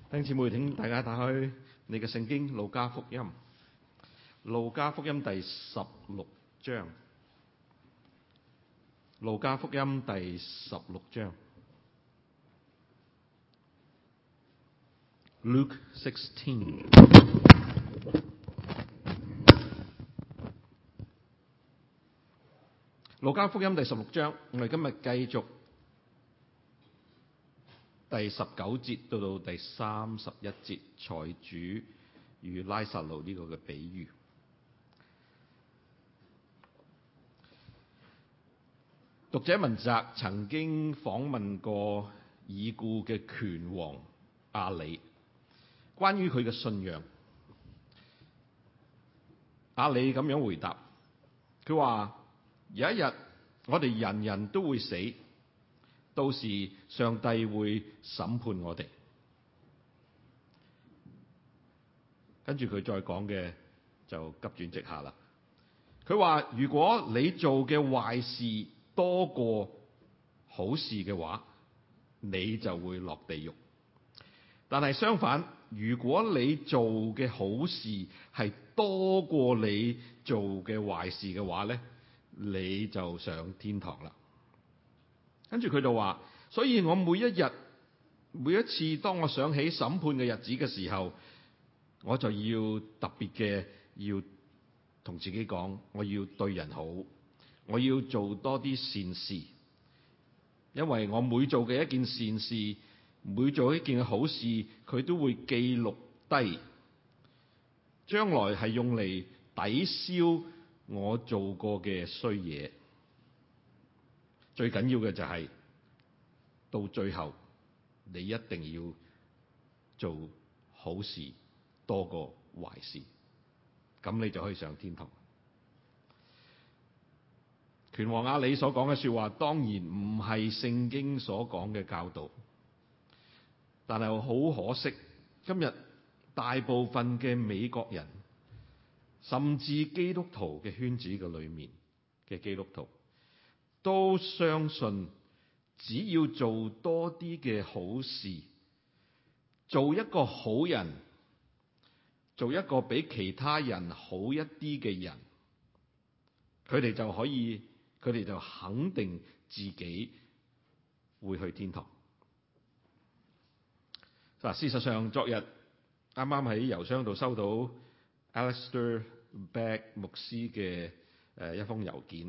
弟兄姊妹，請大家打開你嘅聖經《路加福音》，《路加福音》第16章，《路加福音》第16章 Luke 16。路加福音第16章，我哋今日繼續第19節到第31節，財主與拉撒路呢個嘅比喻。讀者文摘曾經訪問過已故嘅拳王亞里，關於佢嘅信仰。亞里咁樣回答，佢話：有一日我哋人人都會死，到時上帝會審判我哋。跟住佢再講嘅就急轉直下啦。佢話：如果你做嘅壞事多過好事嘅話，你就會落地獄。但係相反，如果你做嘅好事係多過你做嘅壞事嘅話咧，你就上天堂啦。跟住佢就話：所以我每一次當我想起審判嘅日子嘅時候，我就要特別嘅要同自己講，我要對人好，我要做多啲善事，因為我每做嘅一件善事，每做一件好事，佢都會記錄低，將來係用嚟抵消我做過嘅衰嘢。最緊要嘅就係到最後，你一定要做好事多過壞事，咁你就可以上天堂。拳王亞里所講嘅說話當然唔係聖經所講嘅教導，但係好可惜，今日大部分嘅美國人，甚至基督徒嘅圈子嘅裏面嘅基督徒，都相信只要做多啲嘅好事，做一個好人，做一個比其他人好一啲嘅人，佢哋就肯定自己會去天堂。嗱，事實上昨日啱啱喺郵箱度收到 Alistair Begg 牧師嘅一封郵件，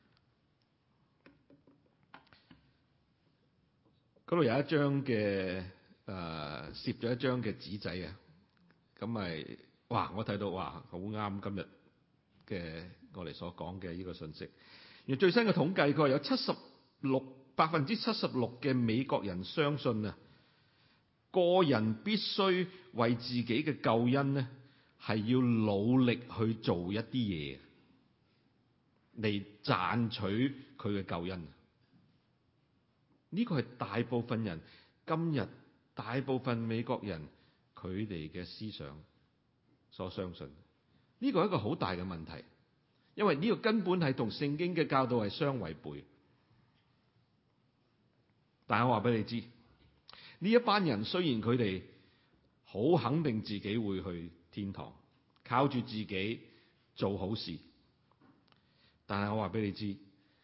嗰度有一張嘅攝咗一張嘅紙仔啊，咁咪我睇到好啱今日嘅我哋所講嘅呢個信息。而最新嘅統計，佢話有76% 嘅美國人相信啊，個人必須為自己嘅救恩呢係要努力去做一啲嘢嚟賺取佢嘅救恩。呢個係大部分人今日大部分美國人佢哋嘅思想所相信。呢個係一個好大嘅問題，因為呢個根本係同聖經嘅教導係相違背。但係我話俾你知，呢一班人雖然佢哋好肯定自己會去天堂，靠住自己做好事，但係我話俾你知，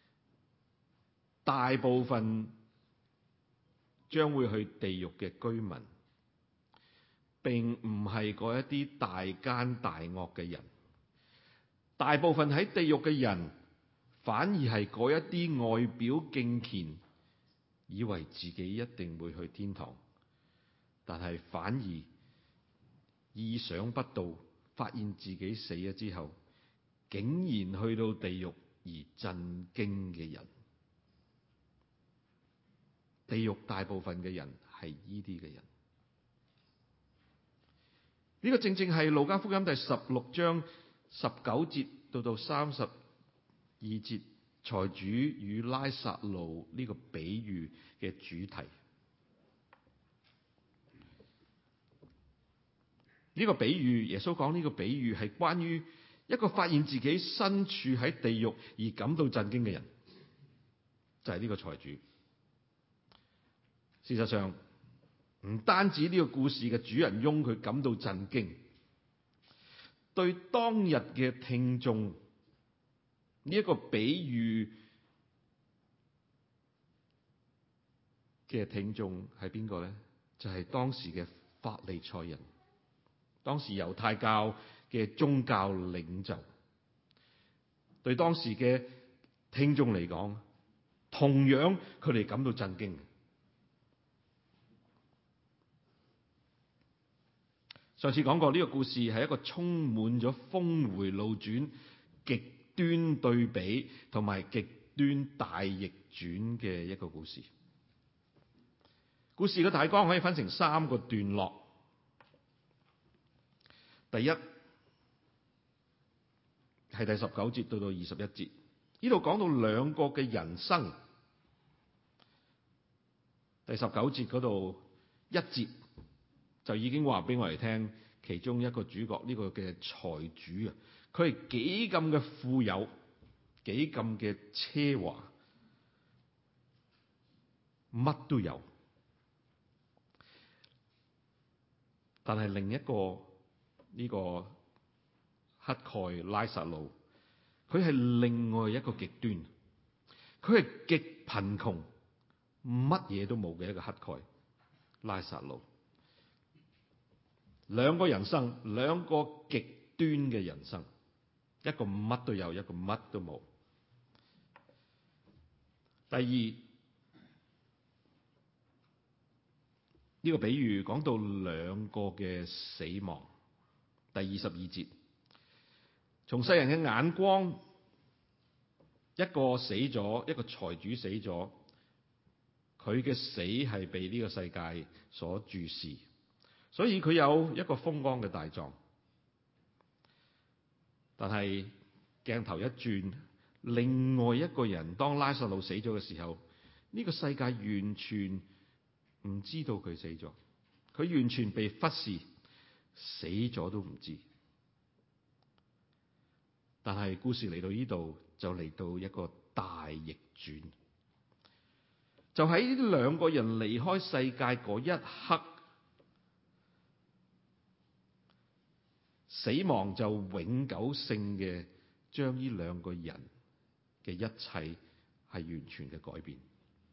大部分將會去地獄嘅居民，並唔係嗰一啲大奸大惡嘅人。大部分喺地獄嘅人，反而係嗰一啲外表敬虔，以為自己一定會去天堂，但係反而意想不到，發現自己死咗之後，竟然去到地獄而震驚嘅人。地獄大部分嘅人係呢啲嘅人。呢個正正係路加福音第16章19節到32節，財主與拉撒路呢個比喻嘅主題。呢個比喻，耶穌講呢個比喻係關於一個發現自己身處喺地獄而感到震驚嘅人，就係呢個財主。事實上， 唔單止呢個故事嘅主人翁佢感到震驚，對當日嘅聽眾呢一個比喻嘅聽眾係邊個咧？就係當時嘅法利賽人，當時猶太教嘅宗教領袖。對當時嘅聽眾嚟講，同樣佢哋感到震驚。上次講過呢個故事係一個充滿咗峰回路轉、極端對比同埋極端大逆轉嘅一個故事。故事嘅大綱可以分成3個段落。第一係第19節到21節，呢度講到2個嘅人生。第19節嗰度1節就已經話俾我哋聽，其中一個主角呢個嘅財主啊，佢係幾咁嘅富有，幾咁嘅奢華，乜都有。但係另一個呢個乞丐拉撒路，佢係另外一個極端，佢係極貧窮，乜嘢都冇嘅一個乞丐拉撒路。2個人生，2個極端嘅人生，一個乜都有，一個乜都冇。第二，呢個比喻講到2個嘅死亡。第22節，從世人嘅眼光，一個死咗，一個財主死咗，佢嘅死係被呢個世界所注視，所以佢有一個風光嘅大葬。但係鏡頭一轉，另外一個人當拉撒路死咗嘅時候，呢個世界完全唔知道佢死咗，佢完全被忽視，死咗都唔知。但係故事嚟到呢度就嚟到一個大逆轉，就喺呢2個人離開世界嗰一刻，死亡就永久性嘅將呢2個人嘅一切係完全嘅改變。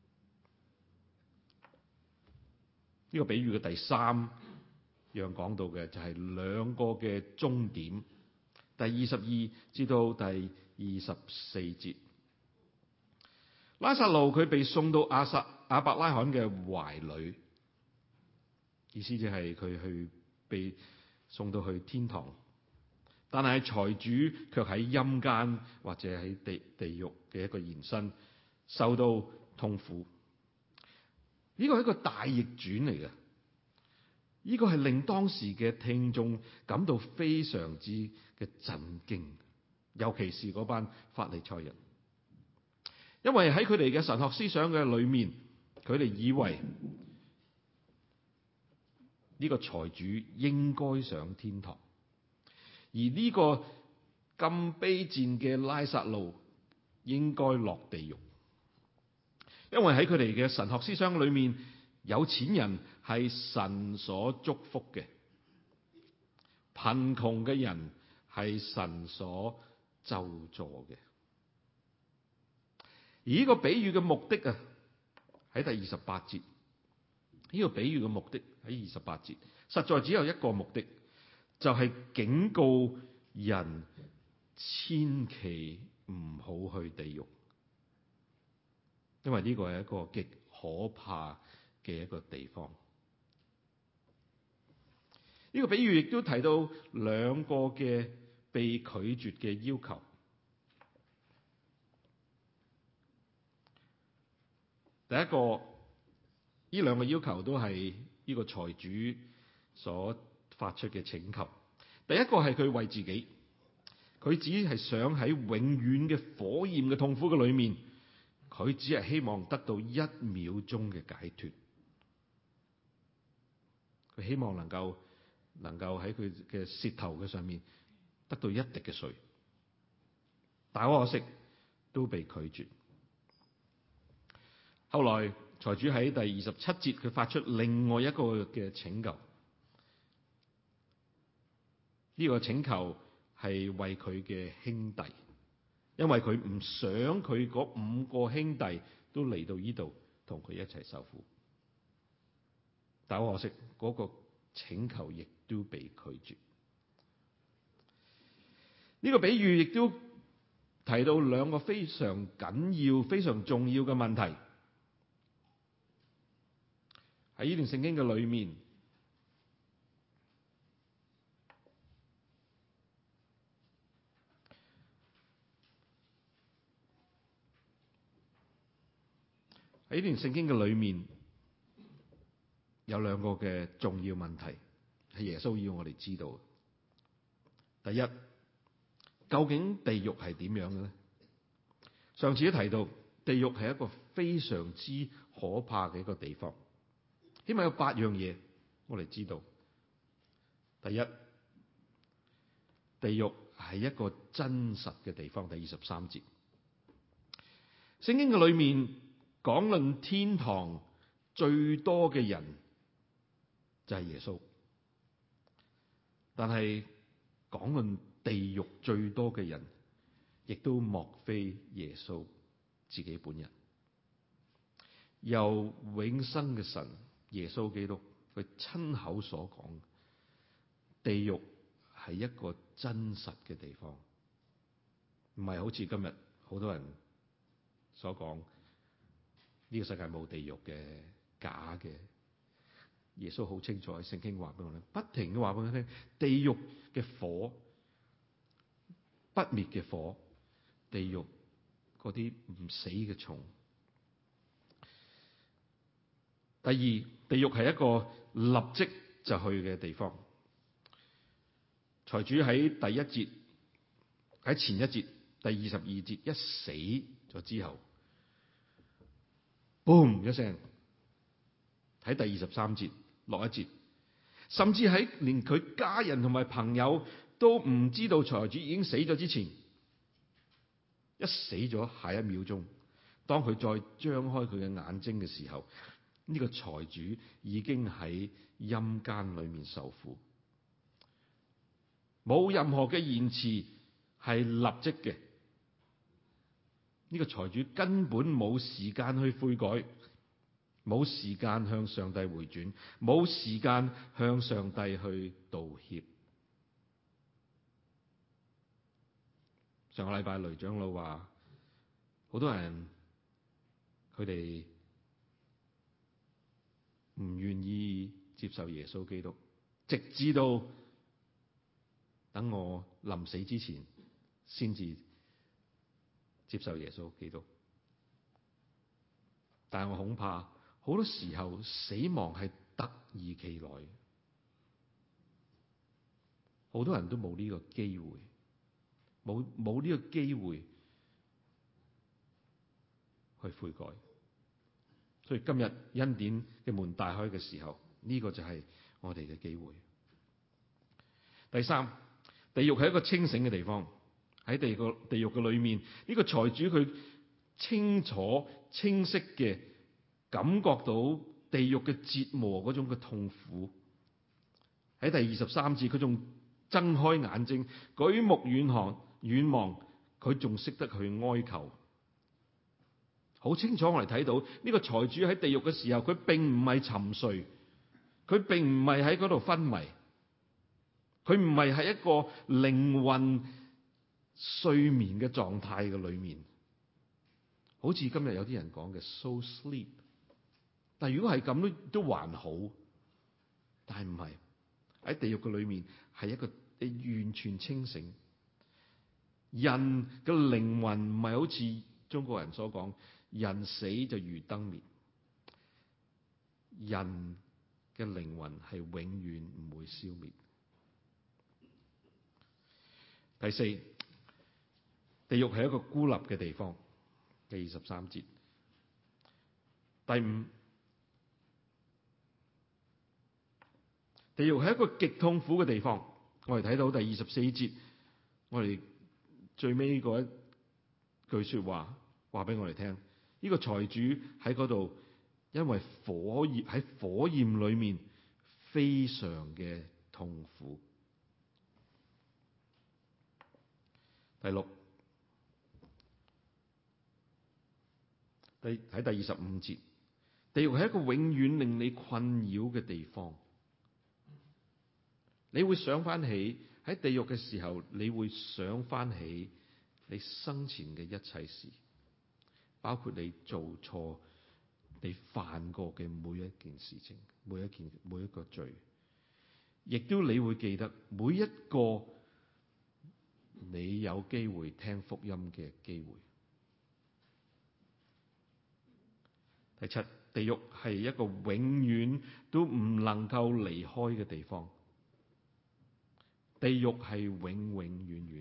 呢個比喻嘅第3樣講到嘅就係2個嘅終點。第22至到第24節，拉撒路佢被送到亞伯拉罕嘅懷裏，意思就係佢去被送到去天堂。但係財主卻喺陰間或者喺地獄嘅一個延伸，受到痛苦。呢個係一個大逆轉嚟嘅，呢個係令當時嘅聽眾感到非常之嘅震驚，尤其是嗰班法利賽人，因為喺佢哋嘅神學思想嘅裏面，佢哋以為呢個財主應該上天堂，而呢個咁卑賤嘅拉撒路應該落地獄。因為喺佢哋嘅神學思想裏面，有錢人係神所祝福嘅，貧窮嘅人係神所咒詛嘅。而呢個比喻嘅目的啊，喺第28節。呢個比喻嘅目的喺28節，實在只有一個目的，就係警告人千祈唔好去地獄。因為呢個係一個極可怕嘅一個地方。呢個比喻亦都提到2個嘅被拒絕嘅要求。第一個，呢2個要求都係呢個財主所發出嘅請求。第一個係佢為自己，佢只係想喺永遠嘅火焰嘅痛苦嘅裏面，佢只係希望得到1秒鐘嘅解脫。佢希望能夠喺佢嘅舌頭嘅上面得到1滴嘅水，但可惜都被拒絕。後來財主喺第27節佢發出另外一個嘅請求，呢個請求係為佢嘅兄弟，因為佢唔想佢嗰5個兄弟都嚟到呢度同佢一齊受苦。但好可惜，嗰個請求亦都被拒絕。呢個比喻亦都提到兩個非常緊要、非常重要嘅問題。喺呢段聖經嘅裏面，喺呢段聖經嘅裏面有兩個嘅重要問題，係耶穌要我哋知道。第一，究竟地獄係點樣嘅咧？上次都提到，地獄係一個非常之可怕嘅一個地方。起碼有8樣嘢我哋知道。第一，地獄係一個真實嘅地方。第23節，聖經嘅裏面講論天堂最多嘅人就係耶穌，但係講論地獄最多嘅人，亦都莫非耶穌自己本人。由永生嘅神耶穌基督佢親口所講，地獄係一個真實嘅地方，唔係好似今日好多人所講呢個世界冇地獄嘅，假嘅。耶穌好清楚喺聖經話俾我聽，不停嘅話俾我聽，地獄嘅火，不滅嘅火，地獄嗰啲唔死嘅蟲。第二，地獄係一個立即就去嘅地方。財主喺第一節，喺前一節第22節一死咗之後，boom 一聲，喺第23節落一節，甚至喺連佢家人同埋朋友都唔知道財主已經死咗之前，一死咗下一秒鐘，當佢再張開佢嘅眼睛嘅時候，呢個財主已經喺陰間裏面受苦，冇任何嘅延遲，係立即嘅。呢個財主根本冇時間去悔改，冇時間向上帝回轉，冇時間向上帝去道歉。上個禮拜雷長老話，好多人佢哋唔願意接受耶穌基督，直至到等我臨死之前先至接受耶穌基督。但係我恐怕好多時候死亡係突如其來，好多人都冇呢個機會，冇呢個機會去悔改。所以今日恩典嘅門大開嘅時候，呢個就係我哋嘅機會。第三，地獄係一個清醒嘅地方。喺地獄嘅裏面，呢個財主佢清楚清晰嘅感覺到地獄嘅折磨嗰種嘅痛苦。喺第23節，佢仲睜開眼睛，舉目遠望，佢仲識得去哀求。好清楚我哋睇到呢個財主喺地獄嘅時候，佢並唔係沉睡，佢並唔係喺嗰度昏迷，佢唔係喺一個靈魂睡眠嘅狀態嘅裏面，好似今日有啲人講嘅 soul sleep。但如果係咁都還好，但係唔係，喺地獄嘅裏面係一個完全清醒。人嘅靈魂唔係好似中國人所講，人死就如燈滅，人嘅靈魂係永遠唔會消滅。第四，地獄係一個孤立嘅地方，第23節。第五，地獄係一個極痛苦嘅地方。我哋睇到第24節，我哋最尾嗰一句說話話俾我哋聽，呢個財主喺嗰度因為喺火焰裏面非常嘅痛苦。第六，喺第25節，地獄係一個永遠令你困擾嘅地方。你會想翻起喺地獄嘅時候，你會想翻起你生前嘅一切事，包括你做錯、你犯過嘅每一件事情、每一個罪，亦都你會記得每一個你有機會聽福音嘅機會。第七，地獄係一個永遠都唔能夠離開嘅地方。地獄係永永遠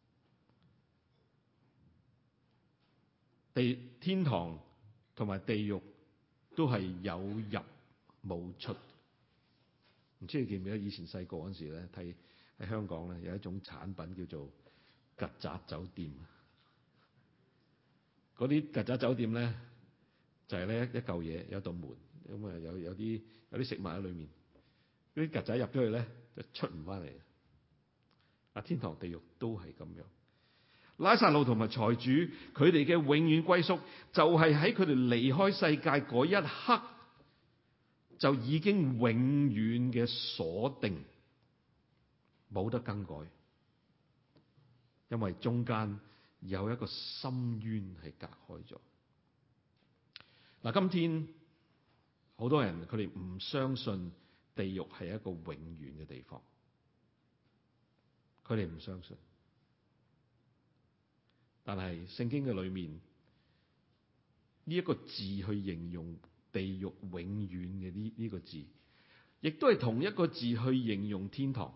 遠，天堂同埋地獄都係有入冇出。唔知你記唔記得以前細個嗰陣時咧，睇喺香港咧有一種產品叫做曱甴酒店。嗰啲曱甴酒店咧就係咧一嚿嘢，有道門，咁啊有啲食物喺裏面。嗰啲曱甴入咗去咧就出唔翻嚟。天堂地獄都係咁樣。拉撒路同埋財主佢哋嘅永遠歸宿，就係喺佢哋離開世界嗰一刻就已經永遠嘅鎖定，冇得更改，因為中間有一個深淵係隔開咗。嗱，今天好多人佢哋唔相信地獄係一個永遠嘅地方。佢哋唔相信，但係聖經嘅裏面呢一個字去形容地獄永遠嘅呢個字，亦都係同一個字去形容天堂。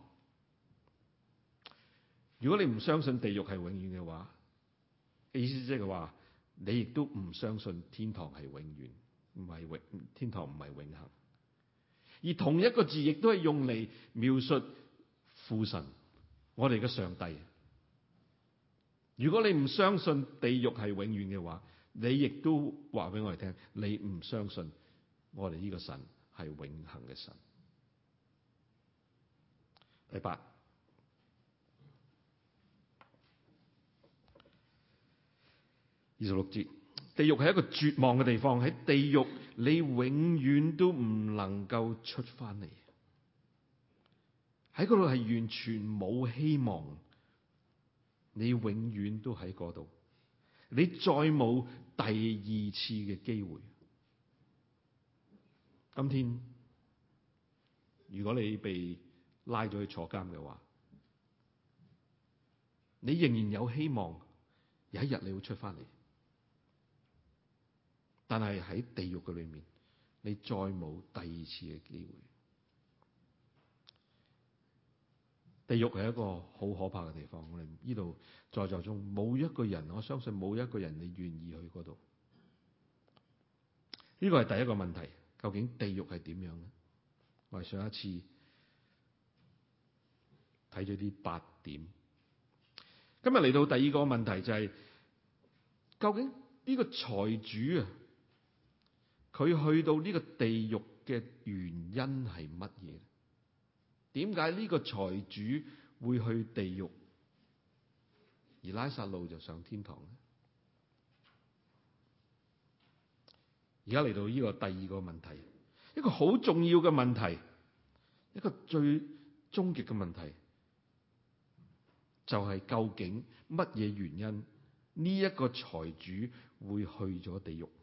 如果你唔相信地獄係永遠嘅話，意思即係話你亦都唔相信天堂係永遠，天堂唔係永恆。而同一個字亦都係用嚟描述父神，我哋嘅上帝。如果你唔相信地獄係永遠嘅話，你亦都話俾我哋聽，你唔相信我哋呢個神係永恆嘅神。第八，26節，地獄係一個絕望嘅地方，喺地獄你永遠都唔能夠出翻嚟。喺嗰度係完全冇希望，你永遠都喺嗰度，你再冇第二次嘅機會。今天如果你被拉咗去坐監嘅話，你仍然有希望有一日你會出翻嚟，但係喺地獄嘅裏面，你再冇第二次嘅機會。地獄係一個好可怕嘅地方，我哋呢度在座中冇一個人，我相信冇一個人你願意去嗰度。呢個係第一個問題，究竟地獄係點樣呢？我哋上一次睇咗啲8點，今日嚟到第二個問題就係，究竟呢個財主啊，佢去到呢個地獄嘅原因係乜嘢？點解呢個財主會去地獄，而拉撒路就上天堂呢？而家嚟到呢個第二個問題，一個好重要嘅問題，一個最終極嘅問題，就係究竟乜嘢原因呢一個財主會去咗地獄？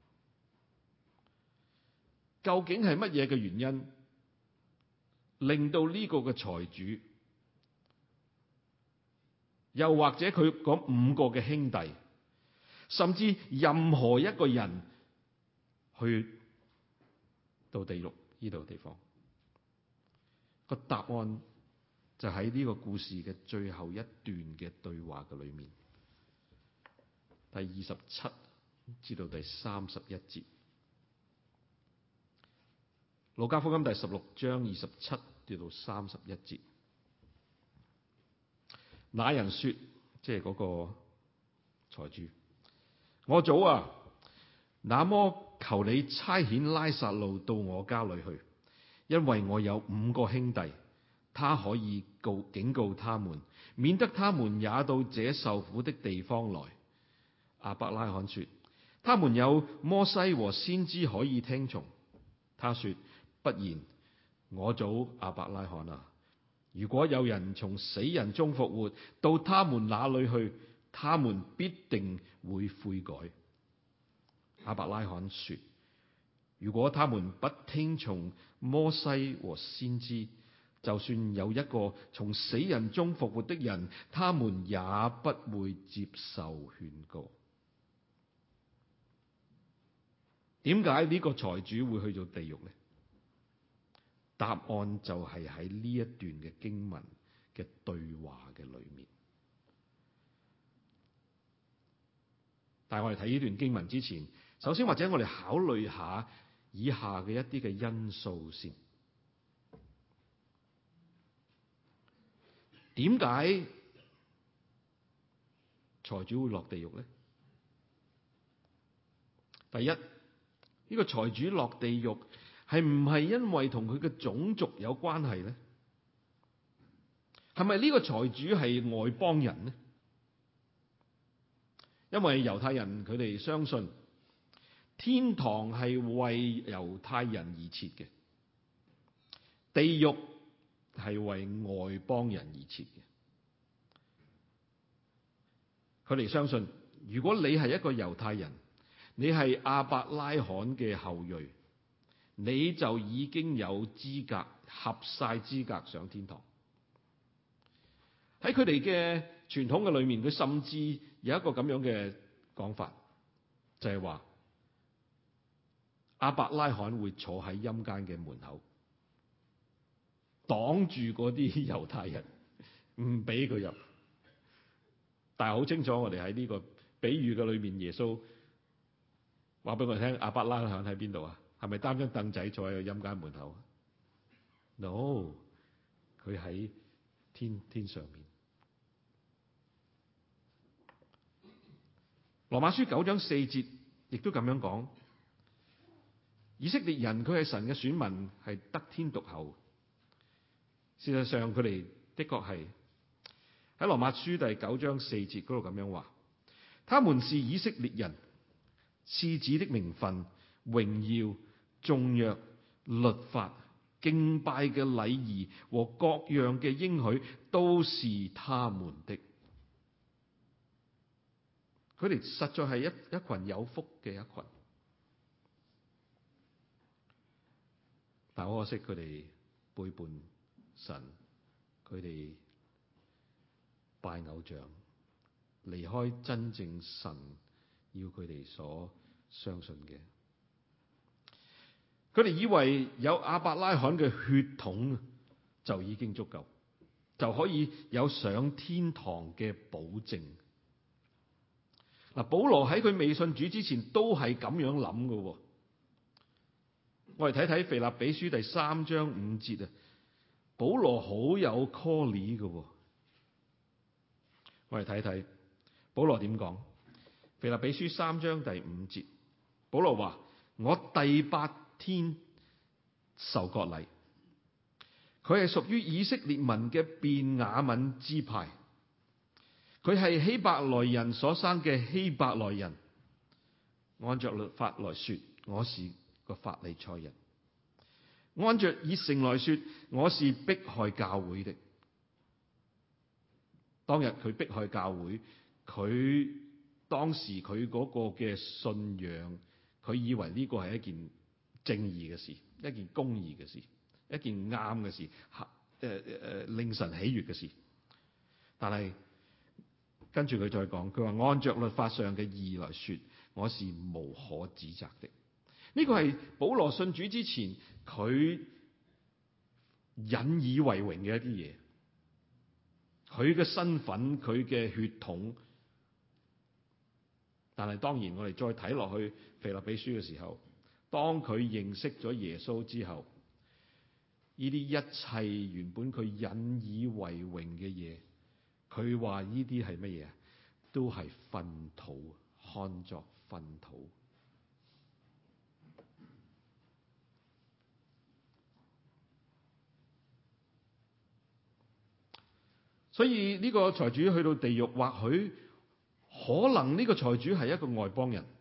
究竟係乜嘢嘅原因令到呢個嘅財主，又或者佢嗰5個嘅兄弟，甚至任何一個人去到地獄呢度地方？個答案就喺呢個故事嘅最後一段嘅對話嘅裏面，第27至到第31節。路加福音第16章27至到31節。那人說，即係嗰個財主，我祖啊，那麼求你差遣拉撒路到我家裏去，因為我有5個兄弟，他可以警告他們，免得他們也到這受苦的地方來。亞伯拉罕說：他們有摩西和先知可以聽從。他說：不然，我祖亞伯拉罕啊，如果有人從死人中復活，到他們那裏去，他們必定會悔改。亞伯拉罕說：如果他們不聽從摩西和先知，就算有一個從死人中復活的人，他們也不會接受勸告。點解呢個財主會去到地獄呢？答案就係喺呢一段嘅經文嘅對話嘅裏面。但係我哋睇呢段經文之前，首先或者我哋考慮下以下嘅一啲嘅因素先。點解財主會落地獄呢？第一，呢個財主落地獄係唔係因為同佢嘅種族有關係呢？係咪呢個財主係外邦人呢？因為猶太人佢哋相信天堂係為猶太人而設嘅，地獄係為外邦人而設嘅。佢哋相信，如果你係一個猶太人，你係亞伯拉罕嘅後裔，你就已經有資格，合晒資格上天堂。喺佢哋嘅傳統嘅裏面，佢甚至有一個咁樣嘅講法，就係話亞伯拉罕會坐喺陰間嘅門口，擋住嗰啲猶太人，唔俾佢入。但係好清楚，我哋喺呢個比喻嘅裏面，耶穌話俾我哋聽，亞伯拉罕喺邊度啊？係咪擔張凳仔坐喺個陰間門口 ？No， 佢喺天上面。羅馬書9章4節亦都咁樣講，以色列人佢係神嘅選民，係得天獨厚。事實上佢哋的確係喺羅馬書第9章4節嗰度咁樣話，他們是以色列人，賜子的名分、榮耀、頌約、律法、敬拜嘅禮儀和各樣嘅應許，都是他們的。佢哋實在係一群有福嘅一群，但可惜佢哋背叛神，佢哋拜偶像，離開真正神要佢哋所相信嘅。佢哋以為有亞伯拉罕嘅血統就已經足夠，就可以有上天堂嘅保證。嗱，保羅喺佢未信主之前都係咁樣諗嘅。我哋睇睇腓立比書第3章5節啊，保羅好有 call 嘅。我哋睇睇保羅點講。腓立比書3章第5節，保羅話：我第8天受割禮，佢係屬於以色列民嘅便雅憫支派。佢係希伯來人所生嘅希伯來人，按着律法來說，我是個法利賽人；按着熱誠來說，我是迫害教會的。當日佢迫害教會，佢當時佢嗰個嘅信仰，佢以為呢個係一件正義嘅事，一件公義嘅事，一件啱嘅事，令神喜悅嘅事。但係跟住佢再講，佢話按着律法上嘅義來說，我是無可指責的。呢個係保羅信主之前佢引以為榮嘅一啲嘢，佢嘅身份，佢嘅血統。但係當然我哋再睇落去腓立比書嘅時候，當佢認識咗耶穌之後，呢啲一切原本佢引以為榮嘅嘢，佢話呢啲係乜嘢？都係糞土，看作糞土。 所以呢個財主去到地獄，或許可能呢個財主係一個外邦人，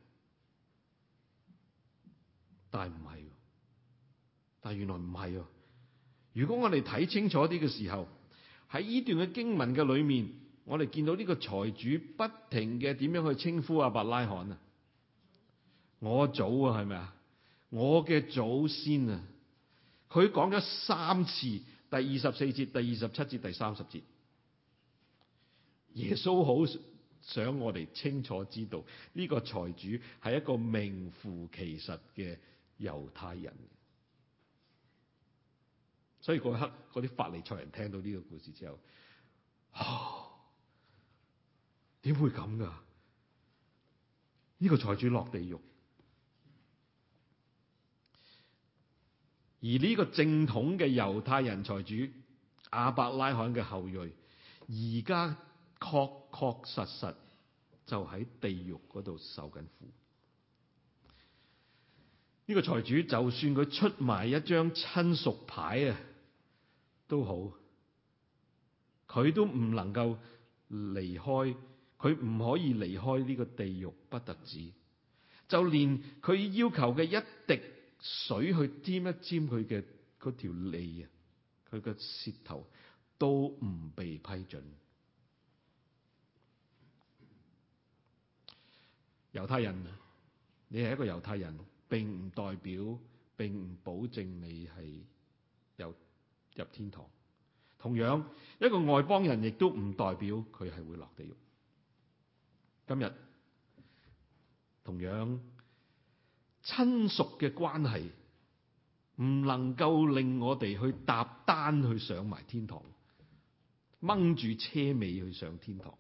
但係唔係，但係原來唔係。如果我哋睇清楚啲嘅時候，喺呢段嘅經文嘅裏面，我哋見到呢個財主不停嘅點樣去稱呼亞伯拉罕啊，我祖啊，係咪啊？我嘅祖先啊，佢講咗3次，第24節、第27節、第30節。耶穌好想我哋清楚知道，呢個財主係一個名副其實嘅猶太人。所以嗰刻嗰啲法利賽人聽到呢個故事之後，點會咁噶？呢個財主落地獄，而呢個正統嘅猶太人財主亞伯拉罕嘅後裔，而家確確實實就喺地獄嗰度受緊苦。呢個財主就算佢出埋一張親屬牌啊都好，佢都唔能夠離開，佢唔可以離開呢個地獄，不特止，就連佢要求嘅一滴水去沾一沾佢嘅嗰條脷啊，佢嘅舌頭都唔被批准。猶太人，你係一個猶太人，並唔代表，並唔保證你係入天堂。同樣，一個外邦人亦都唔代表佢係會落地獄。今日同樣，親屬嘅關係唔能夠令我哋去搭單去上埋天堂，掹住車尾去上天堂。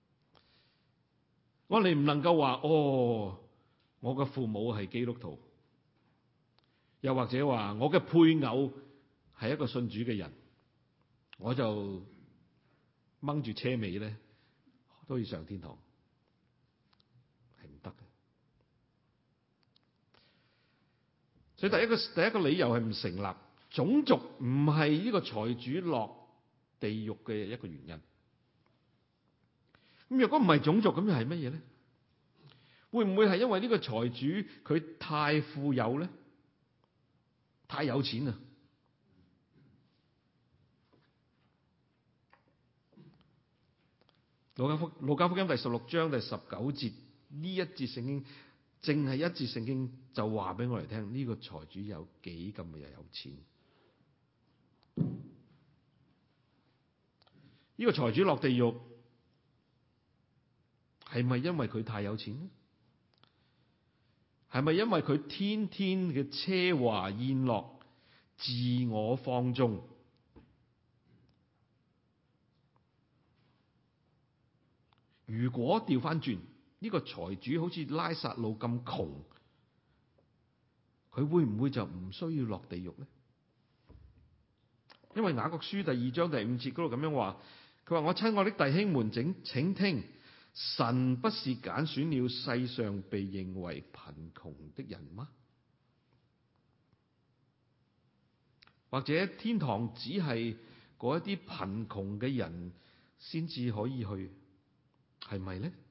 我哋唔能夠話我嘅父母係基督徒，又或者話我嘅配偶係一個信主嘅人，我就掹住車尾咧都要上天堂，係唔得嘅。所以第一個理由係唔成立，種族唔係呢個財主落地獄嘅一個原因。咁若果唔係種族，咁又係乜嘢咧？會唔會係因為呢個財主佢太富有咧？太有錢啊！路加福音第16章第19節，呢一節聖經，淨係一節聖經就話俾我哋聽，呢個財主有幾咁嘅有錢。呢個財主落地獄係咪因為佢太有錢咧？係咪因為佢天天嘅奢華宴樂、自我放縱？如果調翻轉，呢個財主好似拉撒路咁窮，佢會唔會就唔需要落地獄咧？因為雅各書第2章第5節嗰度咁樣話，佢話：我親愛的弟兄們，請聽，神不是揀選了世上被認為貧窮的人嗎？或者天堂只係嗰一啲貧窮嘅人先至可以去，係咪咧？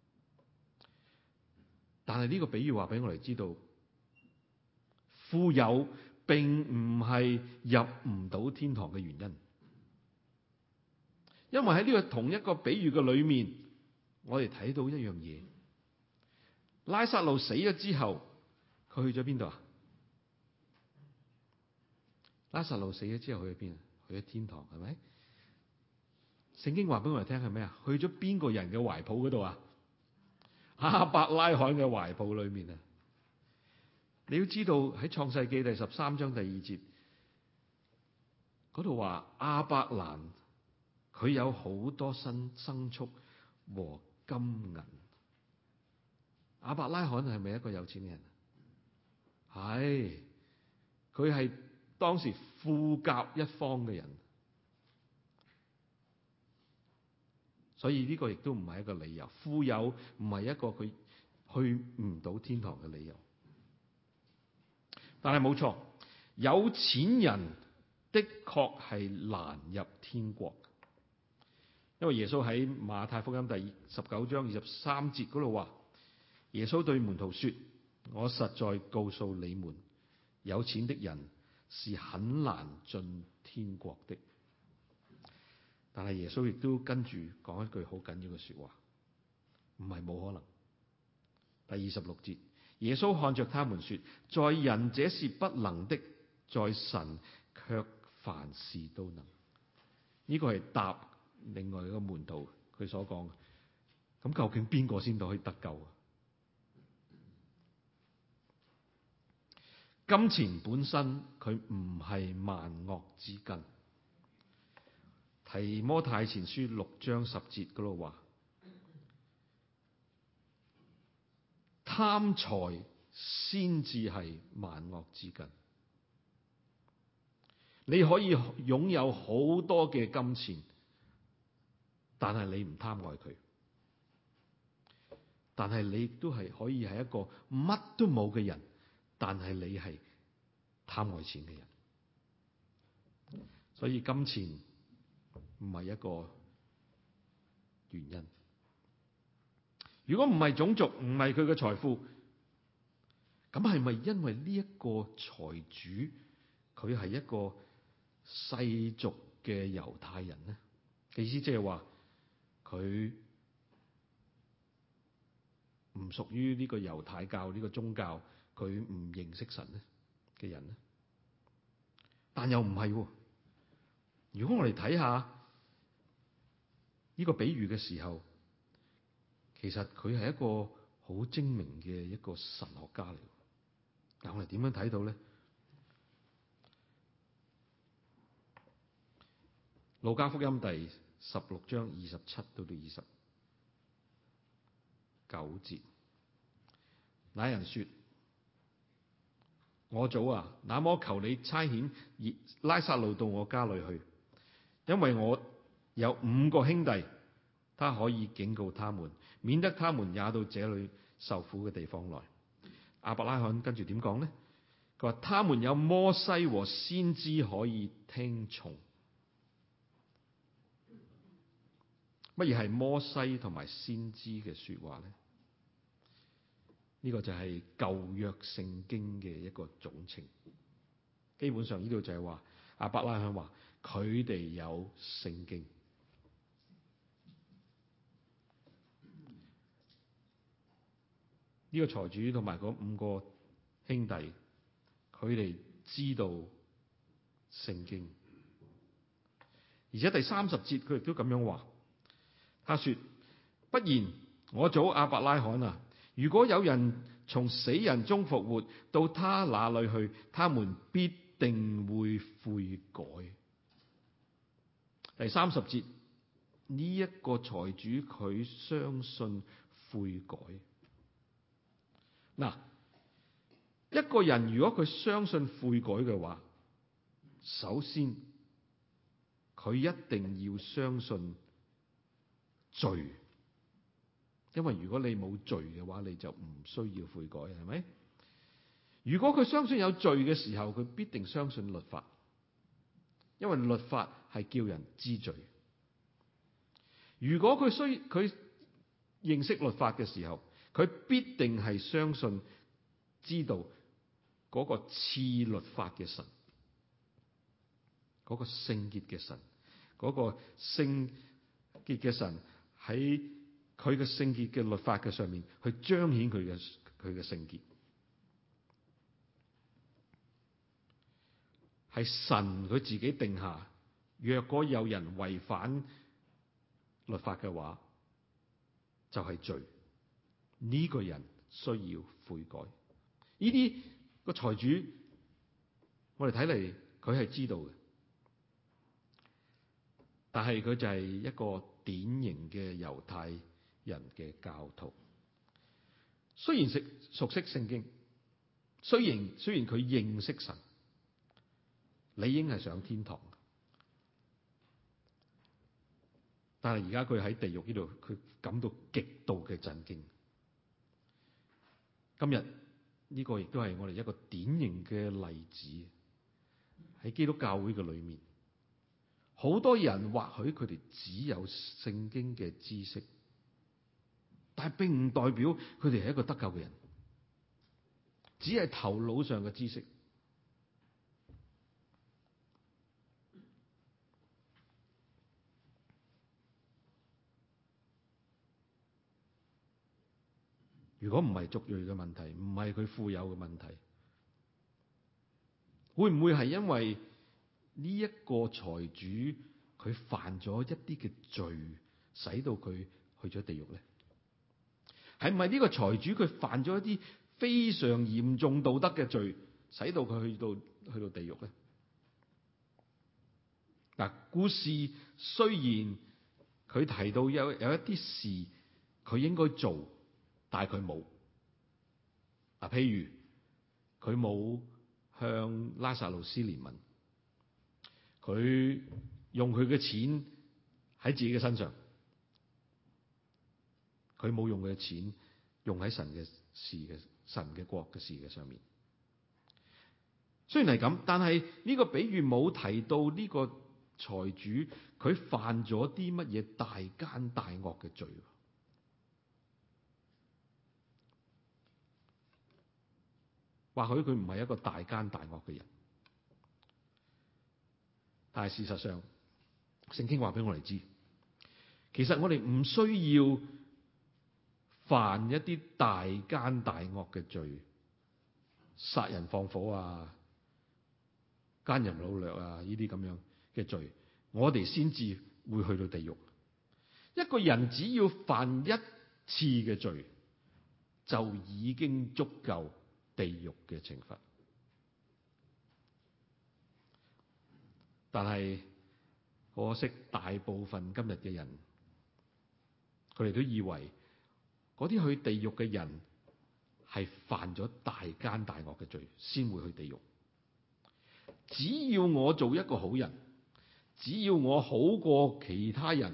但係呢個比喻話俾我哋知道，富有並唔係入唔到天堂嘅原因，因為喺呢個同一個比喻嘅裏面，我哋睇到一樣嘢：拉撒路死咗之後，佢去咗邊度啊？拉撒路死咗之後去咗邊啊？去咗天堂，係咪？聖經話俾我哋聽係咩啊？去咗邊個人嘅懷抱嗰度啊？亞伯拉罕嘅懷抱裏面啊！你要知道喺創世記第13章第2節嗰度話，亞伯蘭佢有好多牲畜和金銀。亞伯拉罕係咪一個有錢嘅人？係，佢係當時富甲一方嘅人，所以呢個亦都唔係一個理由。富有唔係一個佢去唔到天堂嘅理由。但係冇錯，有錢人的確係難入天國。 因為耶穌喺馬太福音第19章23節嗰度話，耶穌對門徒說：我實在告訴你們，有錢的人是很難進天國的。但係耶穌亦都跟住講一句好緊要嘅說話，唔係冇可能。第26節，耶穌看着他們說：在人這是不能的，在神卻凡事都能。呢個係答另外一個門徒佢所講。咁究竟邊個先到可以得救啊？金錢本身佢唔係萬惡之根。提摩太前書6章10節嗰度話，貪財先至係萬惡之根。你可以擁有好多嘅金錢，但係你唔貪愛佢，但係你亦都係可以係一個乜都冇嘅人，但係你係貪愛錢嘅人。所以金錢唔係一個原因。如果唔係種族，唔係佢嘅財富，咁係咪因為呢一個財主佢係一個世俗嘅猶太人呢？意思即係話佢唔屬於呢個猶太教呢個宗教，佢唔認識神呢嘅人呢？但又唔係喎。如果我哋睇下呢個比喻嘅時候，其實佢係一個好精明嘅一個神學家嚟。但我哋點樣睇到咧？路加福音第16章27到29節，那人說：我祖啊，那麼求你差遣拉撒路到我家裏去，因為我有5個兄弟，他可以警告他們，免得他們也到這裏受苦嘅地方來。亞伯拉罕跟住點講呢？佢話：他們有摩西和先知可以聽從。乜嘢係摩西同埋先知嘅說話呢？呢個就係舊約聖經嘅一個總稱。基本上呢度就係話亞伯拉罕話佢哋有聖經。呢個財主同埋嗰5個兄弟，佢哋知道聖經，而且第30節佢亦都咁樣話。他說：不然，我祖亞伯拉罕啊，如果有人從死人中復活，到他那裏去，他們必定會悔改。第30節，呢一個財主佢相信悔改。嗱，一個人如果佢相信悔改嘅話，首先佢一定要相信罪，因為如果你冇罪嘅話，你就唔需要悔改，係咪？如果佢相信有罪嘅時候，佢必定相信律法，因為律法係叫人知罪。如果佢認識律法嘅時候，佢必定係相信知道嗰個賜律法嘅神，嗰個聖潔嘅神，嗰個聖潔嘅神喺佢嘅聖潔嘅律法嘅上面去彰顯佢嘅聖潔，係神佢自己定下，若果有人違反律法嘅話，就係罪。呢個人需要悔改。呢啲個財主，我哋睇嚟佢係知道嘅，但係佢就係一個典型嘅猶太人嘅教徒。雖然熟悉聖經，雖然佢認識神，理應係上天堂，但係而家佢喺地獄呢度，佢感到極度嘅震驚。今日呢個亦都係我哋一個典型嘅例子，喺基督教會嘅裏面， 好多人或許佢哋只有聖經嘅知識，但係並唔代表佢哋係一個得救嘅人，只係頭腦上嘅知識。如果唔係族裔嘅問題，唔係佢富有嘅問題，會唔會係因為呢一個財主佢犯咗一啲嘅罪，使到佢去咗地獄咧？係唔係呢個財主佢犯咗一啲非常嚴重道德嘅罪，使到佢去到地獄咧？嗱，故事雖然佢提到有一啲事佢應該做，但係佢冇。嗱，譬如佢冇向拉撒路施憐憫，佢用佢嘅錢喺自己嘅身上，佢冇用佢嘅錢用喺神嘅國嘅事嘅上面。雖然係咁，但係呢個比喻冇提到呢個財主佢犯咗啲乜嘢大奸大惡嘅罪。或許佢唔係一個大奸大惡嘅人，但係事實上，聖經話俾我哋知，其實我哋唔需要犯一啲大奸大惡嘅罪，殺人放火啊、奸淫擄掠啊呢啲咁樣嘅罪，我哋先至會去到地獄。一個人只要犯一次嘅罪，就已經足夠地獄嘅懲罰。但係可惜，大部分今日嘅人，佢哋都以為嗰啲去地獄嘅人係犯咗大奸大惡嘅罪先會去地獄。只要我做一個好人，只要我好過其他人，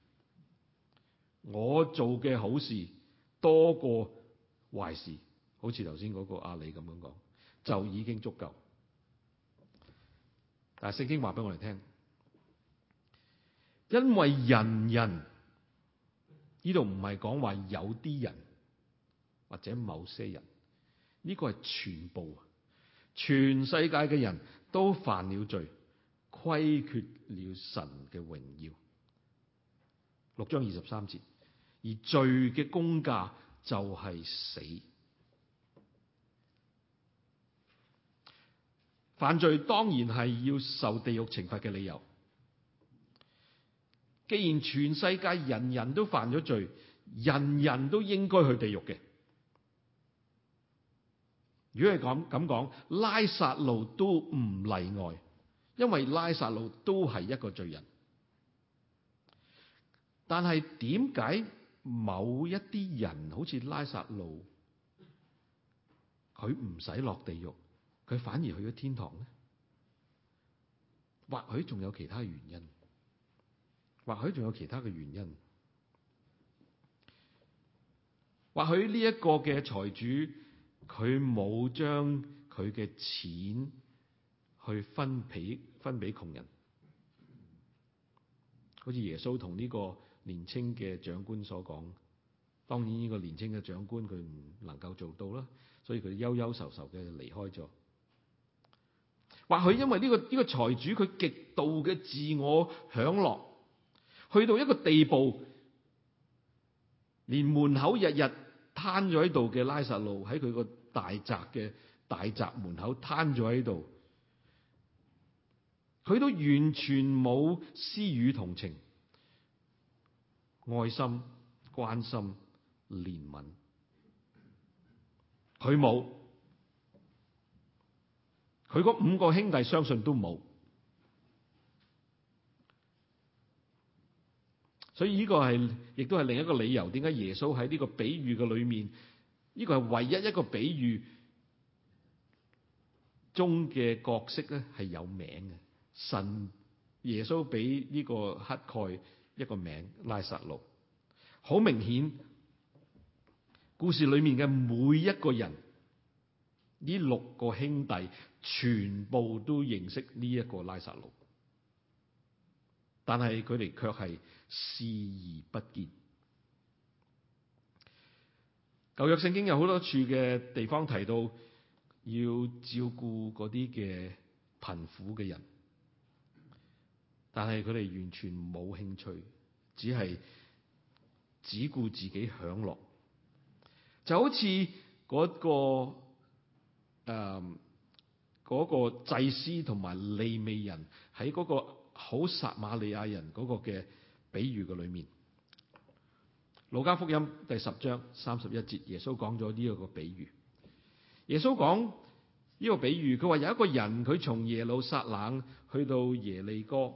我做嘅好事多過壞事，好似頭先嗰個亞里咁樣講，就已經足夠。但係聖經話俾我哋聽，因為人呢度唔係講話有啲人或者某些人，呢個係全部，全世界嘅人都犯了罪，虧缺了神嘅榮耀。6章23節，而罪嘅工價就係死。犯罪當然係要受地獄懲罰嘅理由。既然全世界人人都犯咗罪，人人都應該去地獄嘅。如果係咁講，拉撒路都唔例外，因為拉撒路都係一個罪人。但係點解某一啲人好似拉撒路，佢唔使落地獄，佢反而去咗天堂呢？或許仲有其他原因，或許仲有其他嘅原因。或許呢一個嘅財主，佢冇將佢嘅錢去分俾窮人，好似耶穌同呢個年輕嘅長官所講。當然呢個年輕嘅長官佢唔能夠做到啦，所以佢憂憂愁愁嘅離開咗。或許因為呢個財主佢極度嘅自我享樂，去到一個地步，連門口日日攤咗喺度嘅拉撒路喺佢個大宅門口攤咗喺度，佢都完全冇施予同情、愛心、關心、憐憫，佢冇。佢嗰5個兄弟相信都冇。所以呢個亦都係另一個理由，點解耶穌喺呢個比喻嘅裏面，呢個係唯一一個比喻中嘅角色咧係有名嘅。神耶穌俾呢個乞丐一個名拉撒路，好明顯故事裏面嘅每一個人，呢6個兄弟全部都認識呢一個拉撒路。 但係佢哋卻係視而不見。舊約聖經有好多處嘅地方提到要照顧嗰啲嘅貧苦嘅人，但係佢哋完全冇興趣，只顧自己享樂，就好似嗰個祭司同埋利未人喺嗰個好撒瑪利亞人嗰個嘅比喻嘅裏面。路加福音第10章31節，耶穌講咗呢一個比喻。耶穌講呢個比喻，佢話有一個人，佢從耶路撒冷去到耶利哥，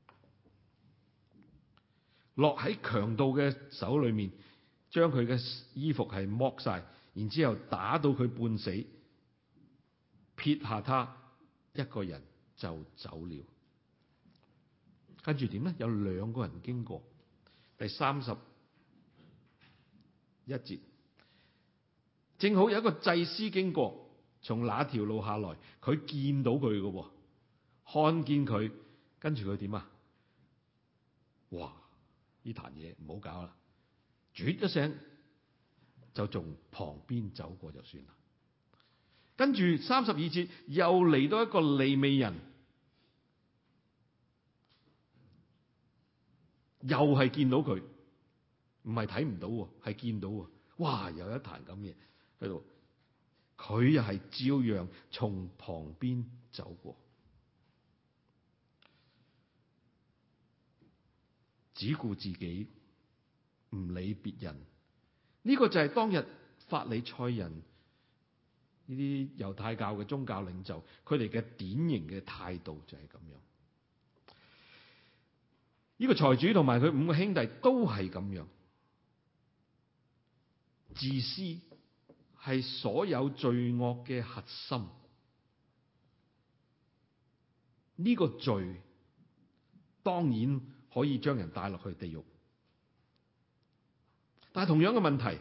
落喺強盜嘅手裏面，將佢嘅衣服係剝晒，然之後打到佢半死，撇下他一個人就走了。跟住點呢？有2個人經過。第31節，正好有一個祭司經過，從那條路下來，佢見到佢嘅，看見佢，跟住佢點啊？哇！呢壇嘢唔好搞啦，啜一聲就從旁邊走過就算啦。跟住32節又嚟到一個利未人，又係見到佢，唔係睇唔到，係見到。哇！有一壇咁嘢喺度，佢又係照樣從旁邊走過，只顧自己，唔理別人。呢個就係當日法利賽人呢啲猶太教嘅宗教領袖，佢哋嘅典型嘅態度就係咁樣。呢個財主同埋佢5個兄弟都係咁樣。自私係所有罪惡嘅核心。呢個罪當然可以將人帶落去地獄，但係同樣嘅問題，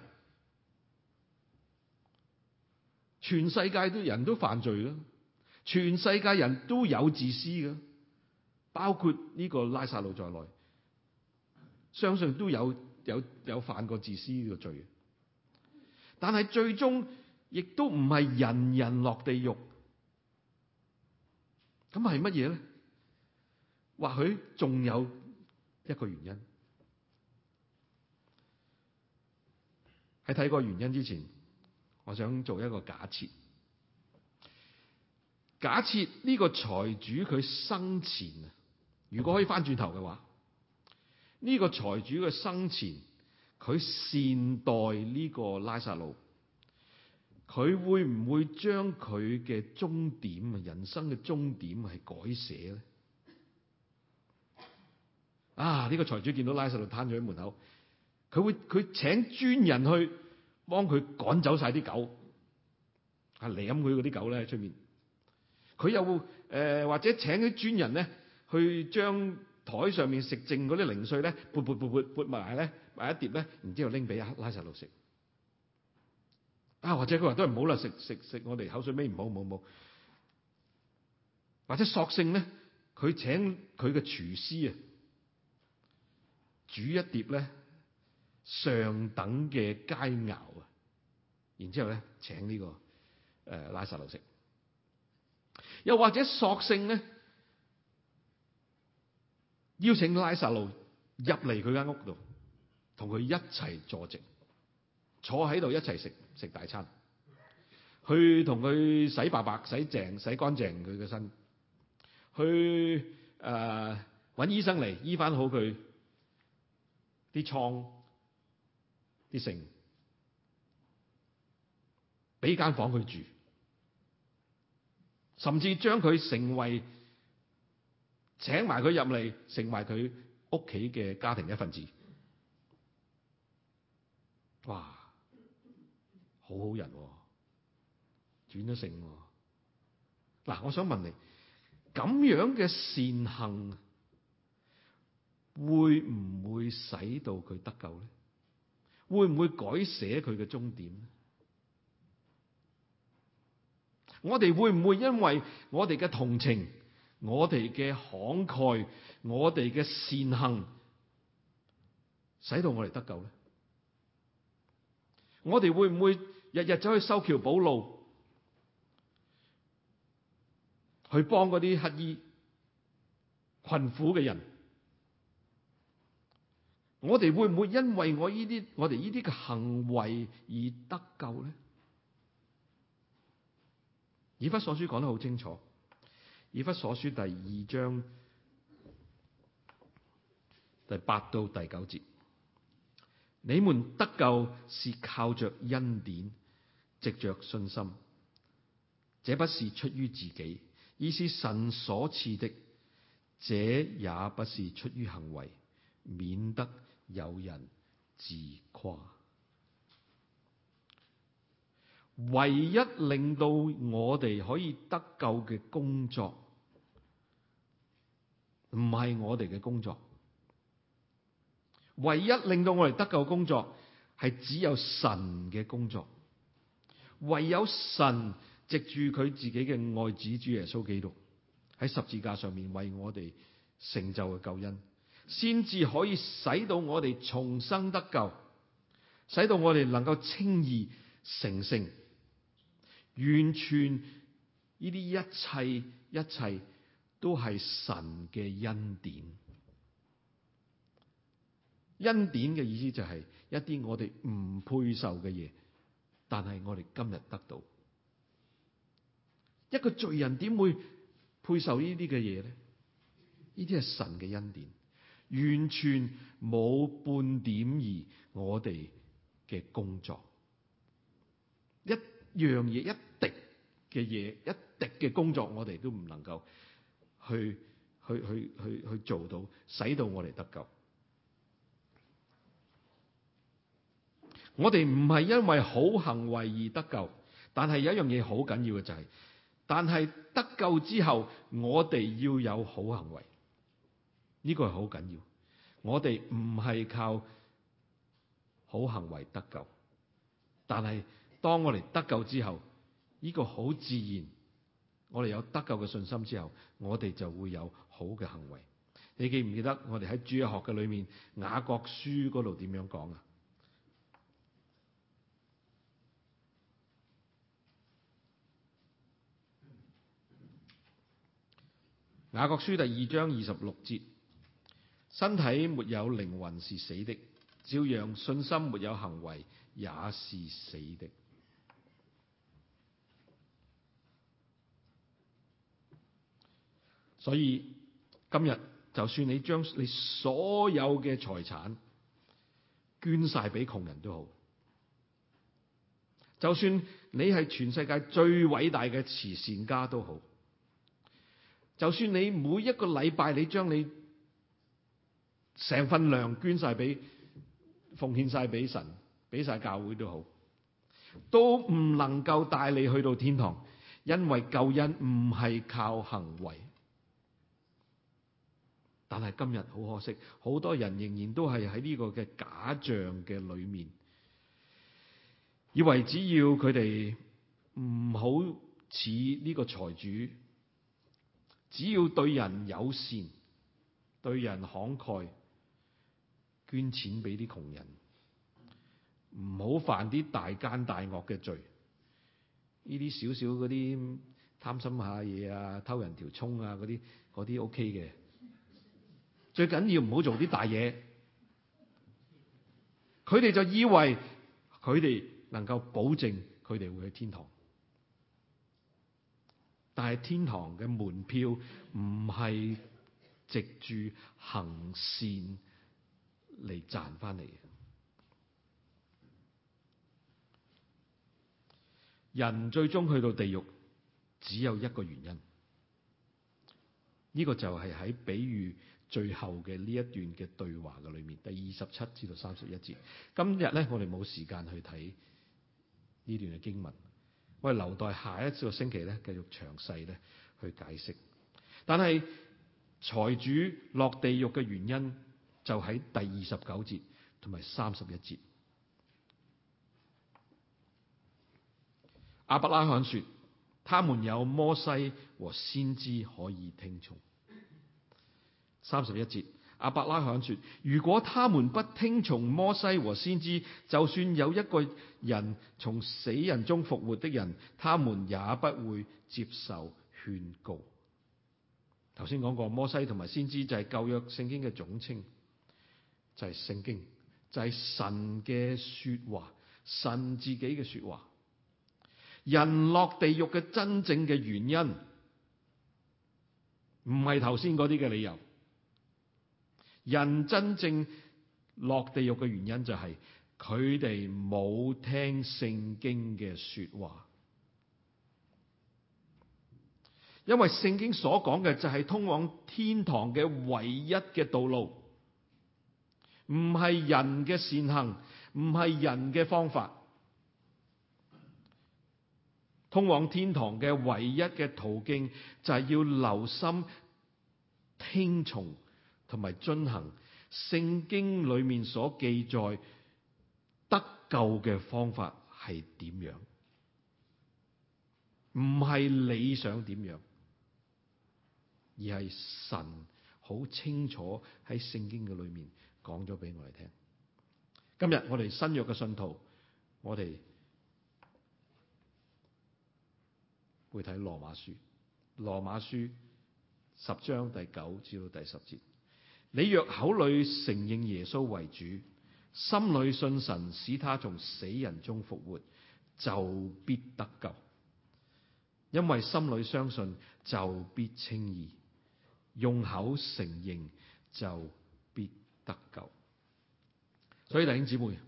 全世界人都犯罪啦，全世界人都有自私嘅，包括呢個拉撒路在內，相信都有犯過自私呢個罪。但係最終亦都唔係人人落地獄。咁係乜嘢咧？或許仲有一個原因。喺睇個原因之前，我想做一個假設。假設呢個財主佢生前啊，如果可以翻轉頭嘅話，呢個財主嘅生前，佢善待呢個拉撒路，佢會唔會將佢嘅終點啊，人生嘅終點係改寫咧？啊！呢個財主見到拉撒路攤咗喺門口，佢請專人去幫佢趕走晒啲狗，啊舐佢嗰啲狗咧喺出面。佢又或者請啲專人咧去將台上面食剩嗰啲零碎咧撥埋咧埋一碟咧，然之後拎俾拉撒路食。啊，或者佢話都係唔好啦，食我哋口水尾，唔好。或者索性咧，佢請佢嘅廚師啊，煮一碟咧上等嘅佳肴啊，然之後咧請呢個拉撒路食。又或者索性咧邀請拉撒路入嚟佢間屋度，同佢一齊坐席，坐喺度一齊食大餐，去同佢洗白淨、洗乾淨佢嘅身，去搵醫生嚟醫翻好佢啲瘡、啲剩，俾間房佢住，甚至將佢請埋佢入嚟，成為佢屋企嘅家庭一份子。哇，好好人，轉咗性。嗱，我想問你，咁樣嘅善行會唔會使到佢得救咧？會唔會改寫佢嘅終點咧？我哋會唔會因為我哋嘅同情， 我哋嘅慷慨，我哋嘅善行，使到我哋得救咧？我哋會唔會日日走去修橋補路，去幫嗰啲乞兒、困苦嘅人？我哋會唔會因為我哋呢啲嘅行為而得救咧？以弗所書講得好清楚，以弗所書第2章第8到第9節，你們得救是靠着恩典，藉着信心，這不是出於自己，而是神所賜的，這也不是出於行為，免得有人自誇。唯一令到我哋可以得救嘅工作，唔係我哋嘅工作。唯一令到我哋得救嘅工作，係只有神嘅工作。唯有神藉住佢自己嘅愛子主耶穌基督喺十字架上面為我哋成就嘅救恩，先至可以使到我哋重生得救，使到我哋能夠稱義成聖。完全呢啲一切都係神嘅恩典。恩典嘅意思就係一啲我哋唔配受嘅嘢，但係我哋今日得到。一個罪人點會配受呢啲嘅嘢咧？呢啲係神嘅恩典，完全冇半點兒我哋嘅工作。一樣嘢，一滴嘅嘢，一滴嘅工作，我哋都唔能夠去做到，使到我哋得救。我哋唔係因為好行為而得救，但係有一樣嘢好緊要嘅就係，但係得救之後，我哋要有好行為，呢個係好緊要。我哋唔係靠好行為得救，但係當我哋得救之後，呢個好自然，我哋有得救嘅信心之後，我哋就會有好嘅行為。你記唔記得我哋喺主日學嘅裏面雅各書嗰度點樣講啊？雅各書第2章26節，身體沒有靈魂是死的，照樣信心沒有行為也是死的。所以今日就算你將你所有嘅財產捐晒俾窮人都好，就算你係全世界最偉大嘅慈善家都好，就算你每一個禮拜你將你成份糧捐晒俾奉獻晒俾神，俾晒教會都好，都唔能夠帶你去到天堂，因為救恩唔係靠行為。但係今日好可惜，好多人仍然都係喺呢個嘅假象嘅裏面，以為只要佢哋唔好似呢個財主，只要對人友善，對人慷慨，捐錢俾啲窮人，唔好犯啲大奸大惡嘅罪，呢啲少少嗰啲貪心下嘢啊，偷人條葱啊，嗰啲 OK 嘅。最緊要唔好做啲大嘢，佢哋就以為佢哋能夠保證佢哋會去天堂，但係天堂嘅門票唔係藉住行善嚟賺翻嚟嘅。人最終去到地獄只有一個原因，呢個就係喺比喻最後嘅呢一段嘅對話嘅裏面，第27至到31節。今日咧，我哋冇時間去睇呢段嘅經文，我哋留待下一個星期咧繼續詳細咧去解釋。但係財主落地獄嘅原因就喺第29節同埋31節。亞伯拉罕說： 他們有摩西和先知可以聽從。31節，亞伯拉罕說：如果他們不聽從摩西和先知，就算有一個人從死人中復活的人，他們也不會接受勸告。頭先講過，摩西同埋先知就係舊約聖經嘅總稱，就係聖經，就係神嘅說話，神自己嘅說話。人落地獄嘅真正嘅原因，唔係頭先嗰啲嘅理由。人真正落地獄嘅原因就係佢哋冇聽聖經嘅說話。因為聖經所講嘅就係通往天堂嘅唯一嘅道路，唔係人嘅善行，唔係人嘅方法。通往天堂嘅唯一嘅途徑就係要留心聽從同埋遵行聖經裏面所記載得救嘅方法係點樣，唔係你想點樣，而係神好清楚喺聖經嘅裏面講咗俾我哋聽。今日我哋新約嘅信徒，我哋會睇羅馬書10章第9至到第10節。你若口裏承認耶穌為主，心裏信神使他從死人中復活，就必得救。因為心裏相信就必稱義，用口承認就必得救。所以弟兄姊妹，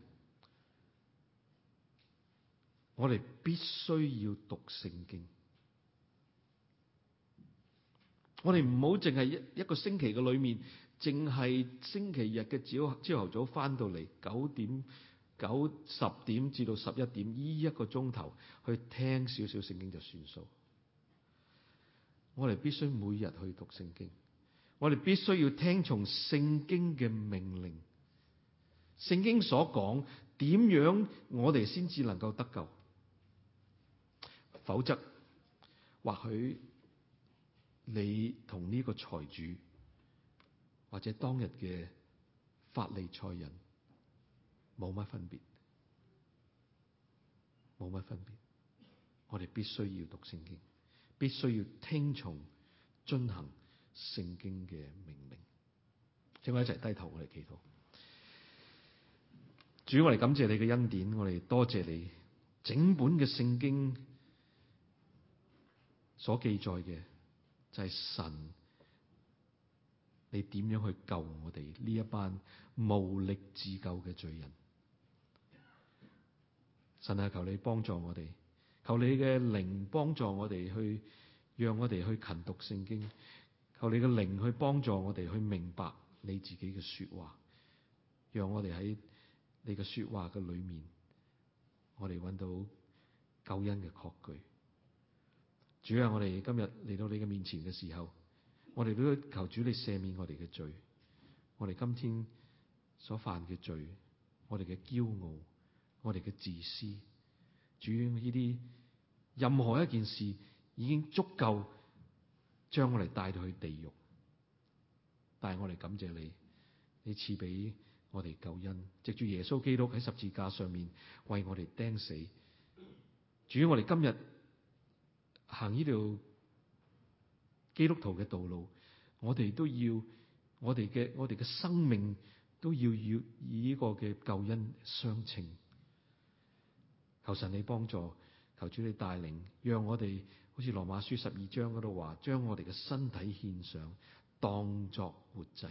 我哋必須要讀聖經。我哋唔好淨係一個星期嘅裏面，淨係星期日嘅朝頭早翻到嚟10點至到11點呢一個鐘頭去聽少少聖經就算數。我哋必須每日去讀聖經，我哋必須要聽從聖經嘅命令。聖經所講點樣，我哋先至能夠得救。否則，或許你同呢個財主或者當日嘅法利賽人冇乜分別，冇乜分別。我哋必須要讀聖經，必須要聽從遵行聖經嘅命令。請我一齊低頭，我哋祈禱。主，我哋感謝你嘅恩典，我哋多謝你整本嘅聖經所記載嘅就係神，你點樣去救我哋呢一班無力自救嘅罪人。神啊，求你幫助我哋，求你嘅靈幫助我哋去，讓我哋去勤讀聖經。求你嘅靈去幫助我哋去明白你自己嘅說話，讓我哋喺你嘅說話嘅裏面，我哋揾到救恩嘅確據。主啊，我哋今日嚟到你嘅面前嘅時候，我哋都求主你赦免我哋嘅罪，我哋今天所犯嘅罪，我哋嘅驕傲，我哋嘅自私。主，呢啲任何一件事已經足夠將我哋帶到去地獄，但係我哋感謝你，你賜俾我哋救恩，藉住耶穌基督喺十字架上面為我哋釘死。主，我哋今日行呢條基督徒嘅道路，我哋都要我哋嘅生命都要以呢個嘅救恩相稱。求神你幫助，求主你帶領，讓我哋好似羅馬書12章嗰度話，將我哋嘅身體獻上，當作活祭，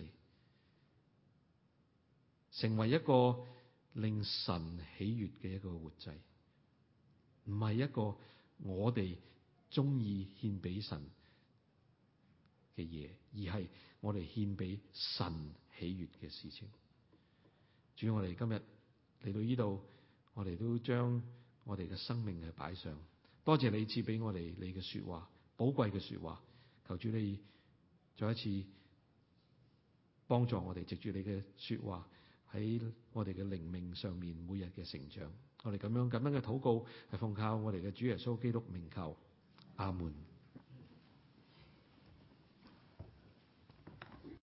成為一個令神喜悅嘅一個活祭，唔係一個我哋中意獻俾神嘅嘢，而係我哋獻俾神喜悅嘅事情。主，我哋今日嚟到呢度，我哋都將我哋嘅生命係擺上。多謝你賜俾我哋你嘅說話，寶貴嘅說話。求主你再一次幫助我哋，藉住你嘅說話喺我哋嘅靈命上面每日嘅成長。我哋咁樣嘅禱告係奉靠我哋嘅主耶穌基督名求， 阿門。